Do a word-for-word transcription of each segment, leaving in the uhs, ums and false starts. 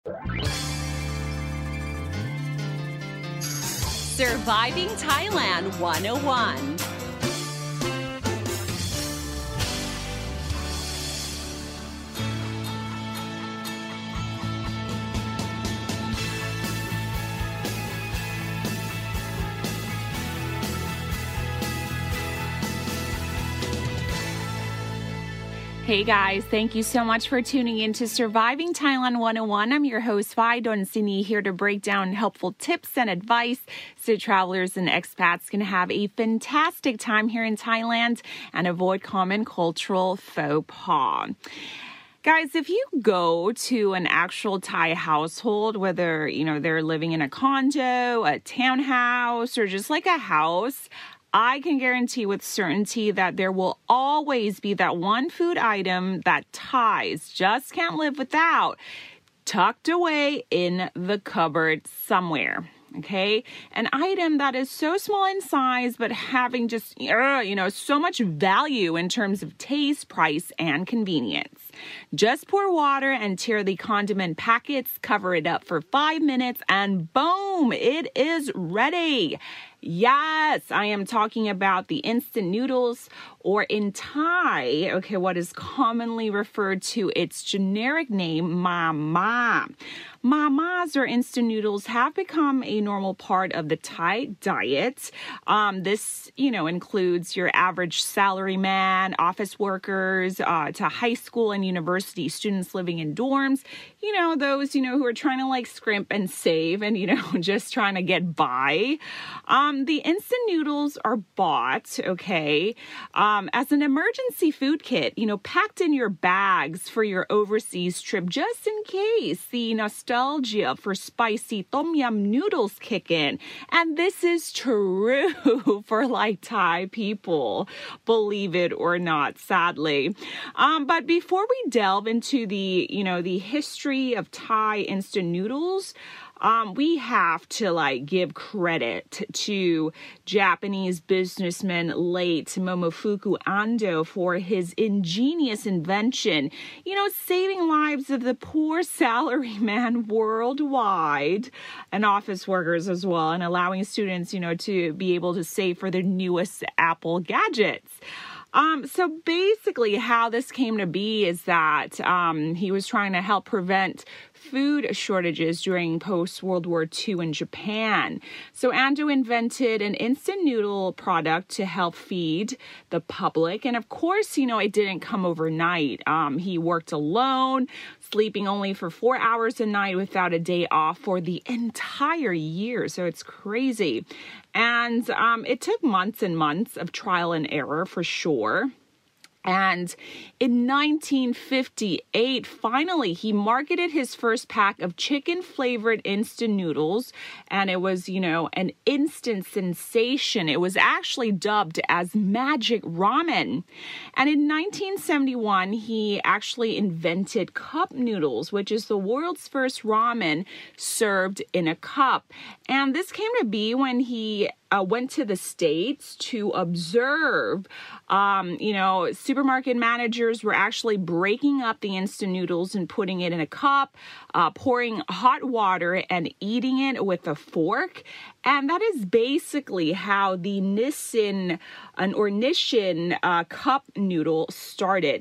Surviving Thailand one oh one. Hey guys, thank you so much for tuning in to Surviving Thailand one oh one. I'm your host, Vai Donsini, here to break down helpful tips and advice so travelers and expats can have a fantastic time here in Thailand and avoid common cultural faux pas. Guys, if you go to an actual Thai household, whether, you know, they're living in a condo, a townhouse, or just like a house, I can guarantee with certainty that there will always be that one food item that Thais just can't live without, tucked away in the cupboard somewhere. Okay, an item that is so small in size, but having just, uh, you know, so much value in terms of taste, price, and convenience. Just pour water and tear the condiment packets, cover it up for five minutes, and boom, it is ready. Yes, I am talking about the instant noodles, or in Thai, okay, what is commonly referred to its generic name, Mama. Mamas or instant noodles have become a normal part of the Thai diet. Um, this, you know, includes your average salaryman, office workers, uh, to high school and university students living in dorms. You know, those, you know, who are trying to like scrimp and save and, you know, just trying to get by. Um, the instant noodles are bought, okay, um, as an emergency food kit, you know, packed in your bags for your overseas trip, just in case the nostalgia for spicy tom yum noodles kick in. And this is true for like Thai people, believe it or not, sadly. Um, but before we delve into the, you know, the history of Thai instant noodles, Um, we have to like give credit to Japanese businessman late Momofuku Ando for his ingenious invention, you know, saving lives of the poor salaryman worldwide and office workers as well, and allowing students, you know, to be able to save for their newest Apple gadgets. Um, so basically how this came to be is that um, he was trying to help prevent food shortages during post-World War Two in Japan. So Ando invented an instant noodle product to help feed the public. And of course, you know, it didn't come overnight. Um, he worked alone, sleeping only for four hours a night without a day off for the entire year. So it's crazy. And um, it took months and months of trial and error for sure. And in nineteen fifty-eight, finally, he marketed his first pack of chicken-flavored instant noodles, and it was, you know, an instant sensation. It was actually dubbed as Magic Ramen. And in nineteen seventy-one, he actually invented cup noodles, which is the world's first ramen served in a cup. And this came to be when he Uh, went to the States to observe, um, you know, supermarket managers were actually breaking up the instant noodles and putting it in a cup, uh, pouring hot water and eating it with a fork. And that is basically how the Nissin an, or Nissin uh, cup noodle started.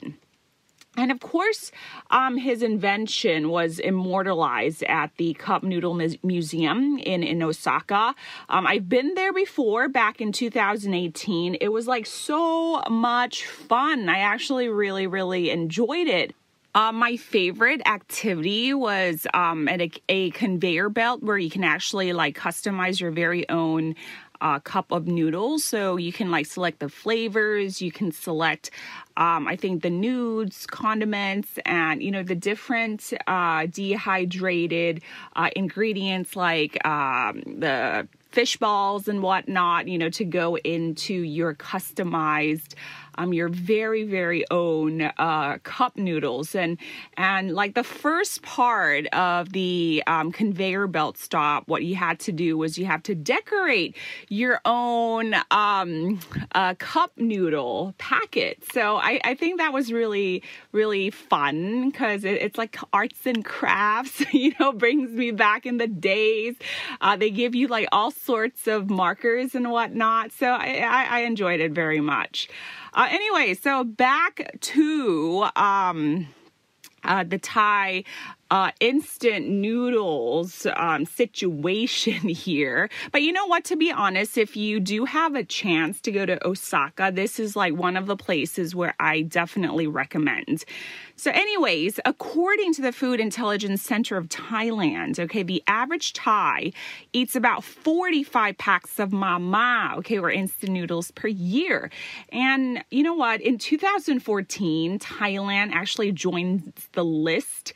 And of course, um, his invention was immortalized at the Cup Noodle Museum in, in Osaka. Um, I've been there before, back in two thousand eighteen. It was like so much fun. I actually really, really enjoyed it. Uh, my favorite activity was um, at a, a conveyor belt where you can actually like customize your very own Uh, cup of noodles. So you can like select the flavors, you can select, um, I think the nudes, condiments, and, you know, the different uh, dehydrated uh, ingredients like um, the fish balls and whatnot, you know, to go into your customized um, your very, very own uh, cup noodles. And, and like the first part of the um, conveyor belt stop, what you had to do was you have to decorate your own um, uh, cup noodle packet. So I, I think that was really, really fun because it, it's like arts and crafts, you know, brings me back in the days. Uh, they give you like all sorts of markers and whatnot. So I, I, I enjoyed it very much. Uh, anyway, so back to um, uh, the Thai Uh, instant noodles um, situation here. But you know what, to be honest, if you do have a chance to go to Osaka, this is like one of the places where I definitely recommend. So anyways, according to the Food Intelligence Center of Thailand, okay, the average Thai eats about forty-five packs of mama, okay, or instant noodles per year. And you know what, in two thousand fourteen, Thailand actually joined the list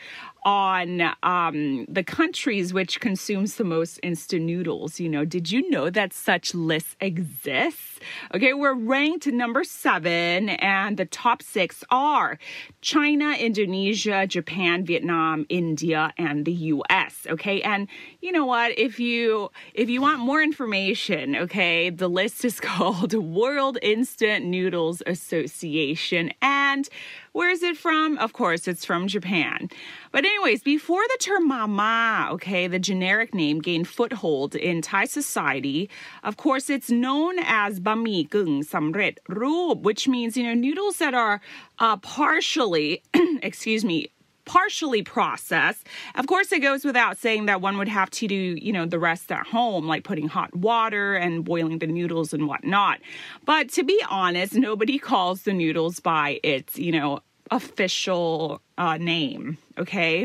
on um, the countries which consumes the most instant noodles. You know, did you know that such lists exist? Okay, we're ranked number seven, and the top six are China, Indonesia, Japan, Vietnam, India, and the U S. Okay, and you know what? If you if you want more information, okay, the list is called World Instant Noodles Association, and where is it from? Of course, it's from Japan. But anyways, before the term mama, okay, the generic name gained foothold in Thai society, of course, it's known as bami gung samret roop, which means, you know, noodles that are uh, partially, excuse me, partially processed. Of course, it goes without saying that one would have to do, you know, the rest at home, like putting hot water and boiling the noodles and whatnot. But to be honest, nobody calls the noodles by its, you know, official uh, name, okay?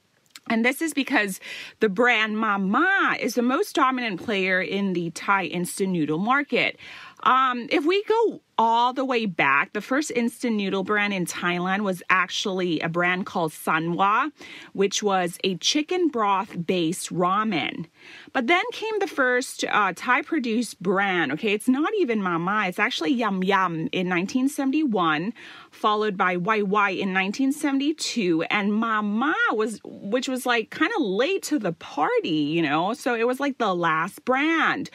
And this is because the brand Mama is the most dominant player in the Thai instant noodle market. Um, if we go all the way back, the first instant noodle brand in Thailand was actually a brand called Sanwa, which was a chicken broth-based ramen. But then came the first uh, Thai-produced brand. Okay, it's not even Mama, it's actually Yum Yum in nineteen seventy-one, followed by Y Y in nineteen seventy-two, and Mama was, which was like kind of late to the party, you know, so it was like the last brand.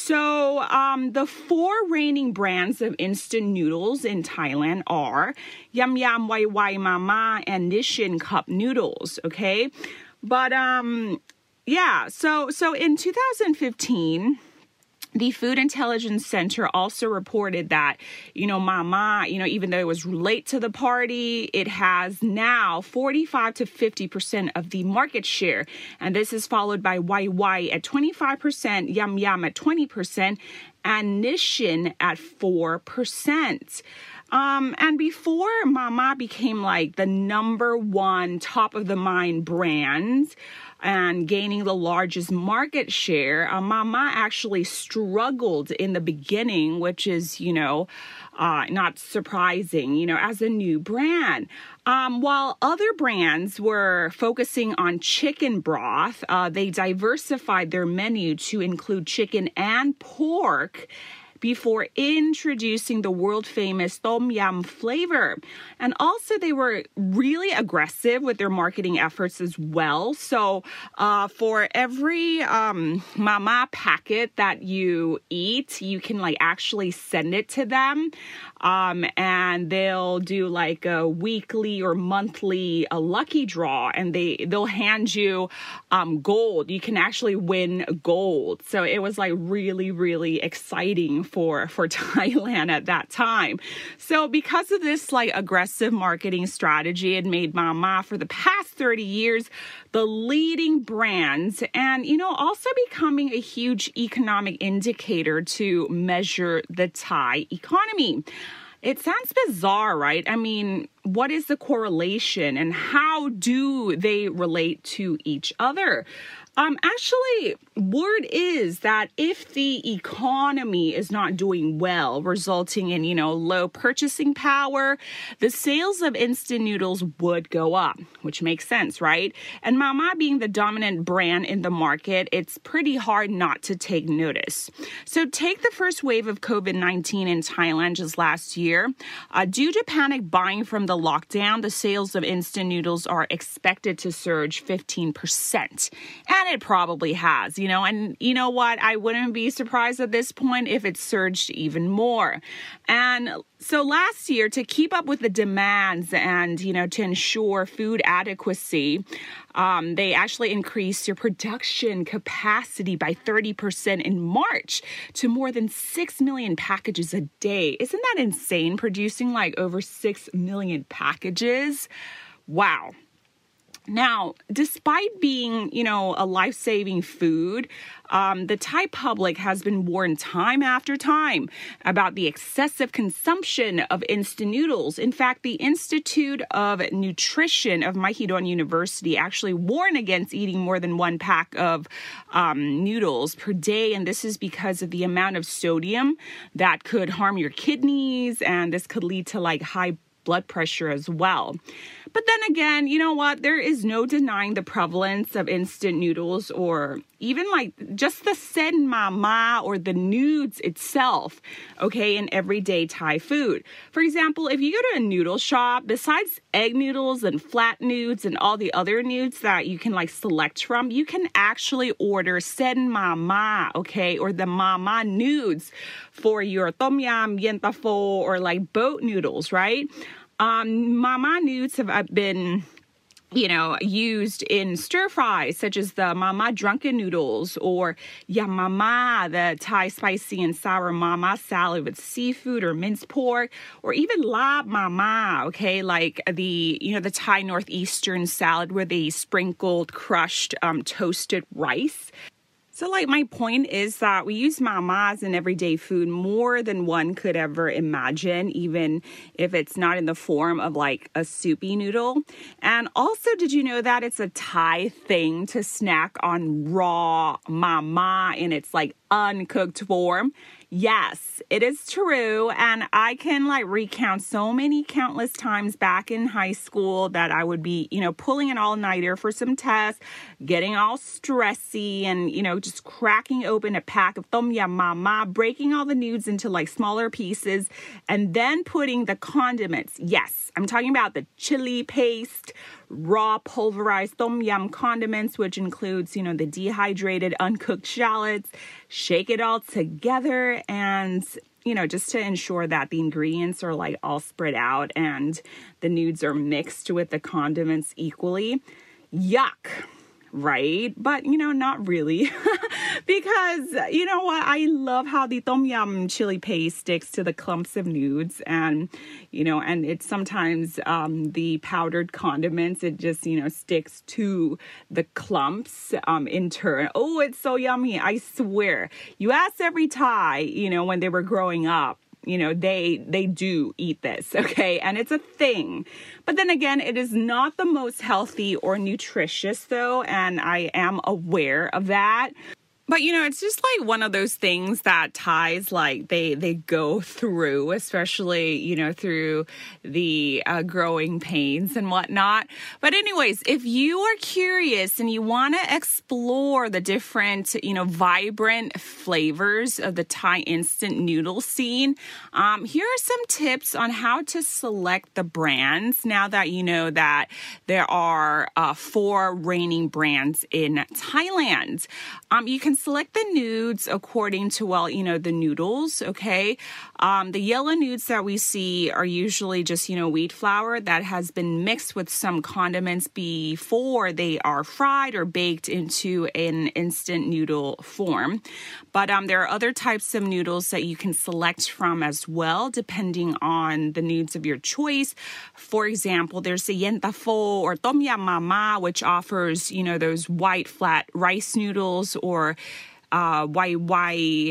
So um, the four reigning brands of instant noodles in Thailand are Yum Yum, Y Y, Mama, and Nissin Cup Noodles, okay? But um, yeah, so so in two thousand fifteen, the Food Intelligence Center also reported that, you know, Mama, you know, even though it was late to the party, it has now forty-five to fifty percent of the market share. And this is followed by Y Y at twenty-five percent, Yum Yum at twenty percent, and Nissin at four percent. Um, and before Mama became like the number one top of the mind brand and gaining the largest market share, uh, Mama actually struggled in the beginning, which is, you know, uh, not surprising, you know, as a new brand. Um, while other brands were focusing on chicken broth, uh, they diversified their menu to include chicken and pork before introducing the world-famous Tom Yum flavor. And also, they were really aggressive with their marketing efforts as well. So uh, for every um, Mama packet that you eat, you can like actually send it to them. Um, and they'll do like a weekly or monthly a lucky draw, and they, they'll hand you um, gold. You can actually win gold. So it was like really, really exciting for, for Thailand at that time. So because of this like aggressive marketing strategy, it made Mama for the past thirty years the leading brand, and, you know, also becoming a huge economic indicator to measure the Thai economy. It sounds bizarre, right? I mean, what is the correlation and how do they relate to each other? Um, actually, word is that if the economy is not doing well, resulting in, you know, low purchasing power, the sales of instant noodles would go up, which makes sense, right? And Mama being the dominant brand in the market, it's pretty hard not to take notice. So take the first wave of covid nineteen in Thailand just last year. Uh, due to panic buying from the lockdown, the sales of instant noodles are expected to surge fifteen percent. And it probably has, you know, and you know what? I wouldn't be surprised at this point if it surged even more. And so last year, to keep up with the demands and, you know, to ensure food adequacy, um, they actually increased their production capacity by thirty percent in March to more than six million packages a day. Isn't that insane? Producing like over six million packages? Wow. Now, despite being, you know, a life-saving food, um, the Thai public has been warned time after time about the excessive consumption of instant noodles. In fact, the Institute of Nutrition of Mahidol University actually warned against eating more than one pack of um, noodles per day, and this is because of the amount of sodium that could harm your kidneys, and this could lead to like high blood pressure as well. But then again, you know what? There is no denying the prevalence of instant noodles or even like just the sen mama or the nudes itself, okay, in everyday Thai food. For example, if you go to a noodle shop, besides egg noodles and flat nudes and all the other nudes that you can like select from, you can actually order sen mama, okay, or the mama nudes for your tom yum, yentafo, or like boat noodles, right? Um, mama nudes have been, you know, used in stir fries, such as the mama drunken noodles or yam mama, the Thai spicy and sour mama salad with seafood or minced pork, or even lab mama, okay, like the, you know, the Thai northeastern salad where they sprinkled crushed um, toasted rice. So like my point is that we use mamas in everyday food more than one could ever imagine, even if it's not in the form of like a soupy noodle. And also, did you know that it's a Thai thing to snack on raw mama in its like uncooked form? Yes, it is true. And I can like recount so many countless times back in high school that I would be, you know, pulling an all-nighter for some tests, getting all stressy and, you know, just cracking open a pack of tom yum mama, breaking all the nudes into like smaller pieces, and then putting the condiments. Yes, I'm talking about the chili paste, raw pulverized tom yum condiments, which includes, you know, the dehydrated uncooked shallots. Shake it all together and, you know, just to ensure that the ingredients are like all spread out and the nudes are mixed with the condiments equally. Yuck. Right? But, you know, not really. Because, you know what? I love how the tom yum chili paste sticks to the clumps of nudes. And, you know, and it's sometimes um, the powdered condiments, it just, you know, sticks to the clumps um, in turn. Oh, it's so yummy. I swear. You ask every Thai, you know, when they were growing up, you know, they they do eat this, okay? And it's a thing. But then again, it is not the most healthy or nutritious, though, and I am aware of that. But, you know, it's just like one of those things that Thais, like, they, they go through, especially, you know, through the uh, growing pains and whatnot. But anyways, if you are curious and you want to explore the different, you know, vibrant flavors of the Thai instant noodle scene, um, here are some tips on how to select the brands now that you know that there are uh, four reigning brands in Thailand. Um, you can select the nudes according to, well, you know, the noodles, okay? Um, the yellow nudes that we see are usually just, you know, wheat flour that has been mixed with some condiments before they are fried or baked into an instant noodle form. But um, there are other types of noodles that you can select from as well, depending on the nudes of your choice. For example, there's the yentafo or tom yum mama, which offers, you know, those white flat rice noodles, or uh, wai wai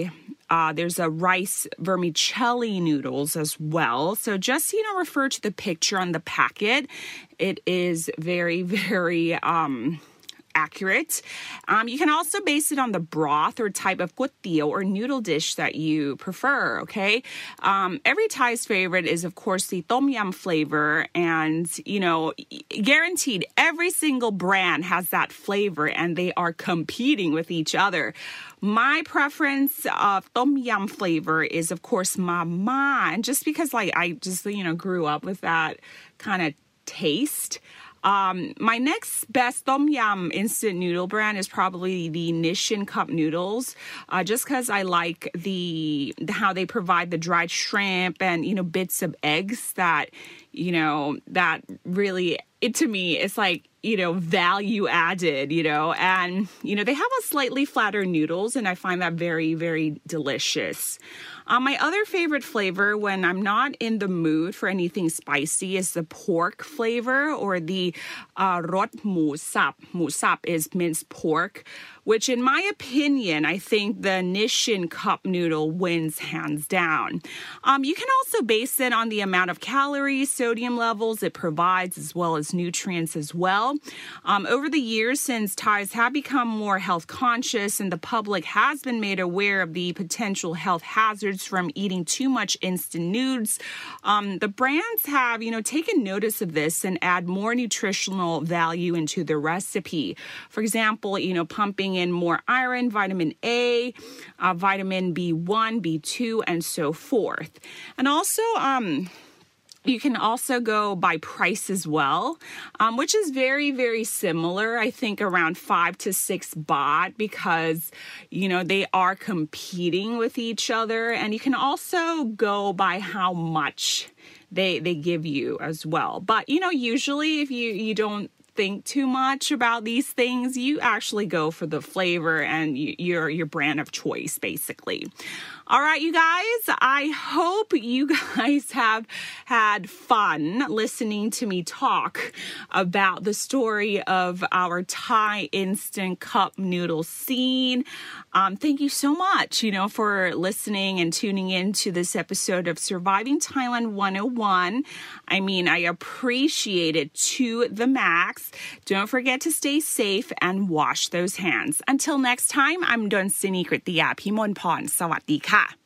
Uh, there's a rice vermicelli noodles as well. So just, you know, refer to the picture on the packet. It is very, very um, accurate. Um, you can also base it on the broth or type of guttio or noodle dish that you prefer, okay? Um, every Thai's favorite is, of course, the tom yum flavor. And, you know, guaranteed every single brand has that flavor and they are competing with each other. My preference of tom yum flavor is, of course, mama. And just because, like, I just, you know, grew up with that kind of taste. Um, my next best tom yum instant noodle brand is probably the Nissin cup noodles, uh, just because I like the, the how they provide the dried shrimp and, you know, bits of eggs that, you know, that really, it to me, it's like, you know, value added, you know, and, you know, they have a slightly flatter noodles and I find that very, very delicious. Um, my other favorite flavor when I'm not in the mood for anything spicy is the pork flavor or the uh, rot mu sap. Mu sap is minced pork, which in my opinion, I think the Nissin cup noodle wins hands down. Um, you can also base it on the amount of calories, sodium levels it provides, as well as nutrients as well. Um, over the years, since Thais have become more health conscious and the public has been made aware of the potential health hazards from eating too much instant noodles, um, the brands have, you know, taken notice of this and add more nutritional value into the recipe. For example, you know, pumping in more iron, vitamin A, uh, vitamin B one, B two, and so forth. And also, um, you can also go by price as well, um, which is very, very similar. I think around five to six baht because, you know, they are competing with each other. And you can also go by how much they they give you as well. But, you know, usually if you, you don't think too much about these things, you actually go for the flavor and you, your your brand of choice, basically. All right, you guys, I hope you guys have had fun listening to me talk about the story of our Thai instant cup noodle scene. Um, thank you so much, you know, for listening and tuning in to this episode of Surviving Thailand one oh one. I mean, I appreciate it to the max. Don't forget to stay safe and wash those hands. Until next time, I'm Donsini Kritiya Pimolporn. สวัสดีค่ะ